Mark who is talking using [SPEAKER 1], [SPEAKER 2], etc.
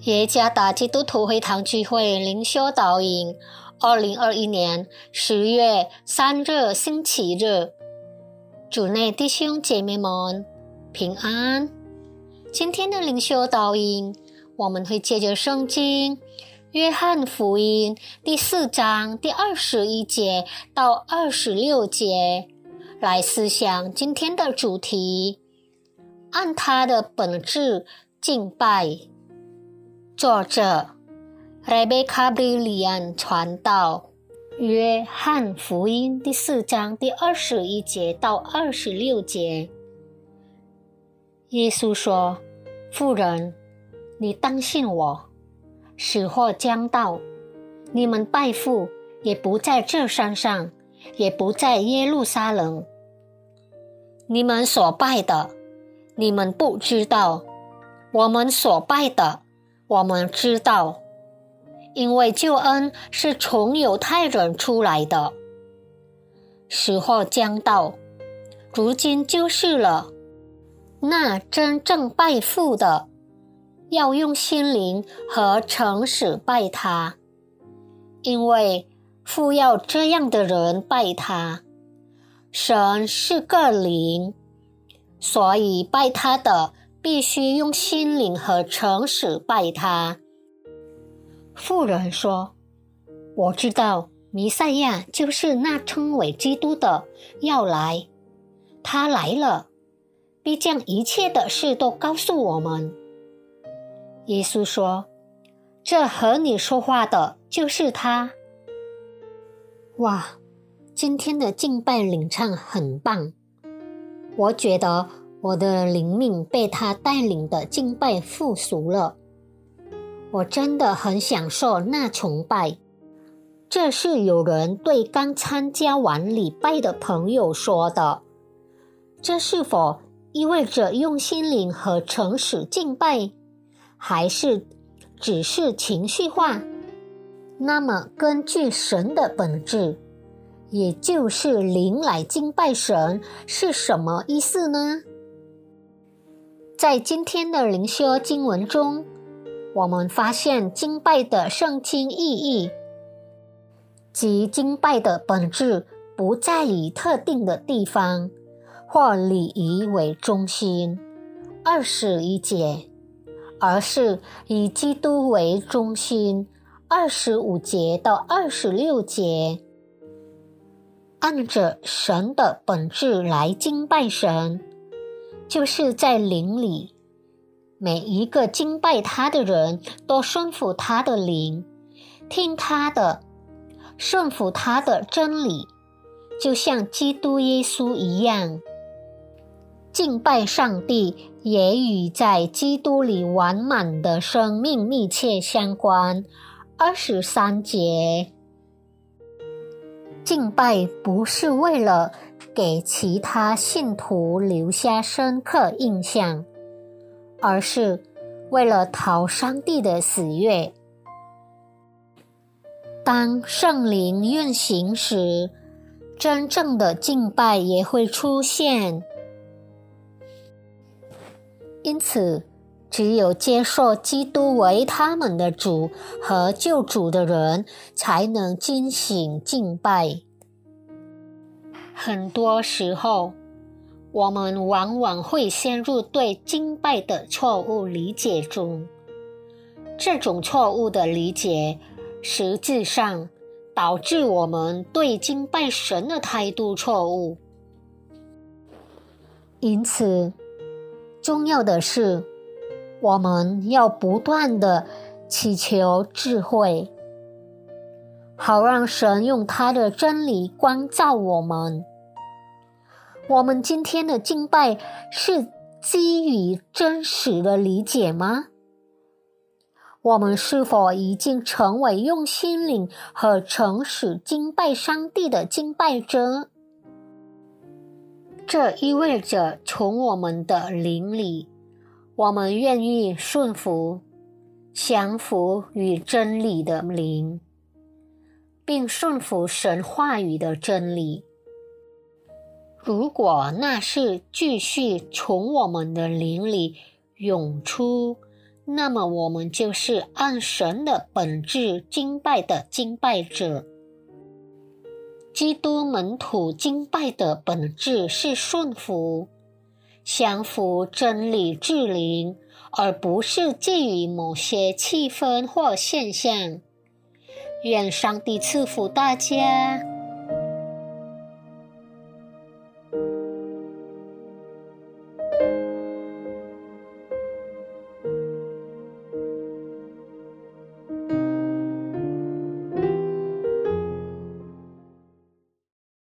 [SPEAKER 1] 耶加达基督徒会堂聚会灵修导引2021年10月3日星期日，主内弟兄姐妹们平安。今天的灵修导引，我们会借着圣经约翰福音第4章第21节到26节来思想今天的主题，按他的本质敬拜。作者 Rebecca Brilliant 传道，约翰福音第4章第21节到26节。耶稣说，妇人，你当信我，时候将到，你们拜父也不在这山上，也不在耶路撒冷。你们所拜的，你们不知道；我们所拜的，我们知道，因为救恩是从犹太人出来的。时候将到，如今就是了。那真正拜父的，要用心灵和诚实拜他，因为父要这样的人拜他。神是个灵，所以拜他的必须用心灵和诚实拜他。妇人说，我知道弥赛亚就是那称为基督的要来，他来了，必将一切的事都告诉我们。耶稣说，这和你说话的就是他。哇，今天的敬拜领唱很棒，我觉得我的灵命被他带领的敬拜复苏了，我真的很享受那崇拜。这是有人对刚参加完礼拜的朋友说的，这是否意味着用心灵和诚实敬拜，还是只是情绪化？那么根据神的本质，也就是灵来敬拜神，是什么意思呢？在今天的灵修经文中，我们发现敬拜的圣经意义，即敬拜的本质不在以特定的地方或礼仪为中心21节，而是以基督为中心25节到26节。按着神的本质来敬拜神，就是在灵里，每一个敬拜他的人都顺服他的灵，听他的，顺服他的真理，就像基督耶稣一样。敬拜上帝也与在基督里完满的生命密切相关23节。敬拜不是为了给其他信徒留下深刻印象，而是为了讨上帝的喜悦。当圣灵运行时，真正的敬拜也会出现。因此，只有接受基督为他们的主和救主的人，才能进行敬拜。很多时候，我们往往会陷入对敬拜的错误理解中。这种错误的理解，实际上导致我们对敬拜神的态度错误。因此，重要的是，我们要不断地祈求智慧，好让神用他的真理光照我们。我们今天的敬拜是基于真实的理解吗？我们是否已经成为用心灵和诚实敬拜上帝的敬拜者？这意味着从我们的灵里，我们愿意顺服、降服与真理的灵，并顺服神话语的真理。如果那是继续从我们的灵里涌出， 那么我们就是按神的本质敬拜的敬拜者。基督门徒敬拜的本质是顺服，降服真理之灵，而不是基于某些气氛或现象。愿上帝赐福大家。